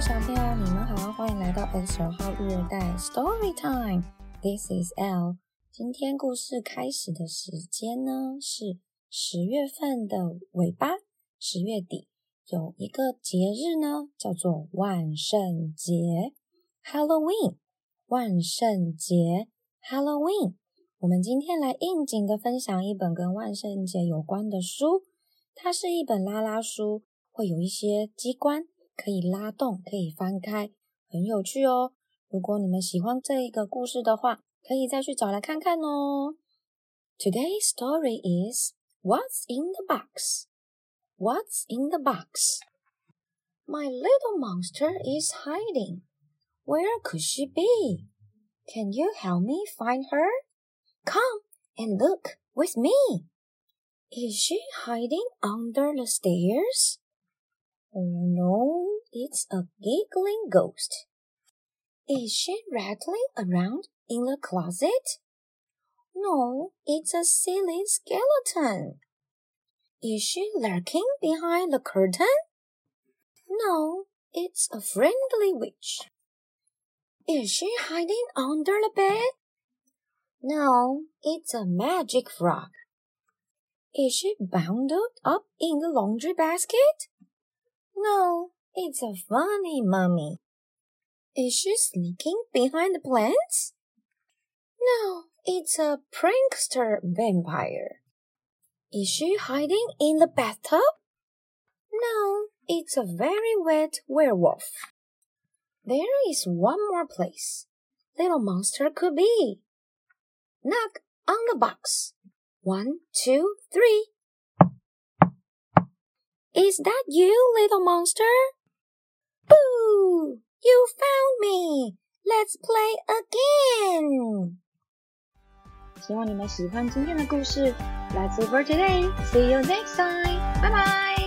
小朋友，你们好，欢迎来到29号育儿袋 Story Time。This is Elle。今天故事开始的时间呢是10月份的尾巴，10月底有一个节日呢，叫做万圣节 Halloween。万圣节 Halloween。我们今天来应景的分享一本跟万圣节有关的书，它是一本拉拉书，会有一些机关可以拉动，可以翻开，很有趣哦。如果你们喜欢这一个故事的话，可以再去找来看看哦。Today's story is What's in the Box? What's in the box? My little monster is hiding. Where could she be? Can you help me find her? Come and look with me. Is she hiding under the stairs? Oh no, it's a giggling ghost. Is she rattling around in the closet? No, it's a silly skeleton. Is she lurking behind the curtain? No, it's a friendly witch. Is she hiding under the bed? No, it's a magic frog. Is she bundled up in the laundry basket? No, it's a funny mummy. Is she sneaking behind the plants? No, it's a prankster vampire. Is she hiding in the bathtub? No, it's a very wet werewolf. There is one more place little monster could be. Knock on the box. 1, 2, 3. Is that you, little monster? Boo! You found me! Let's play again! 希望你们喜欢今天的故事。Let's over today. See you next time. Bye bye!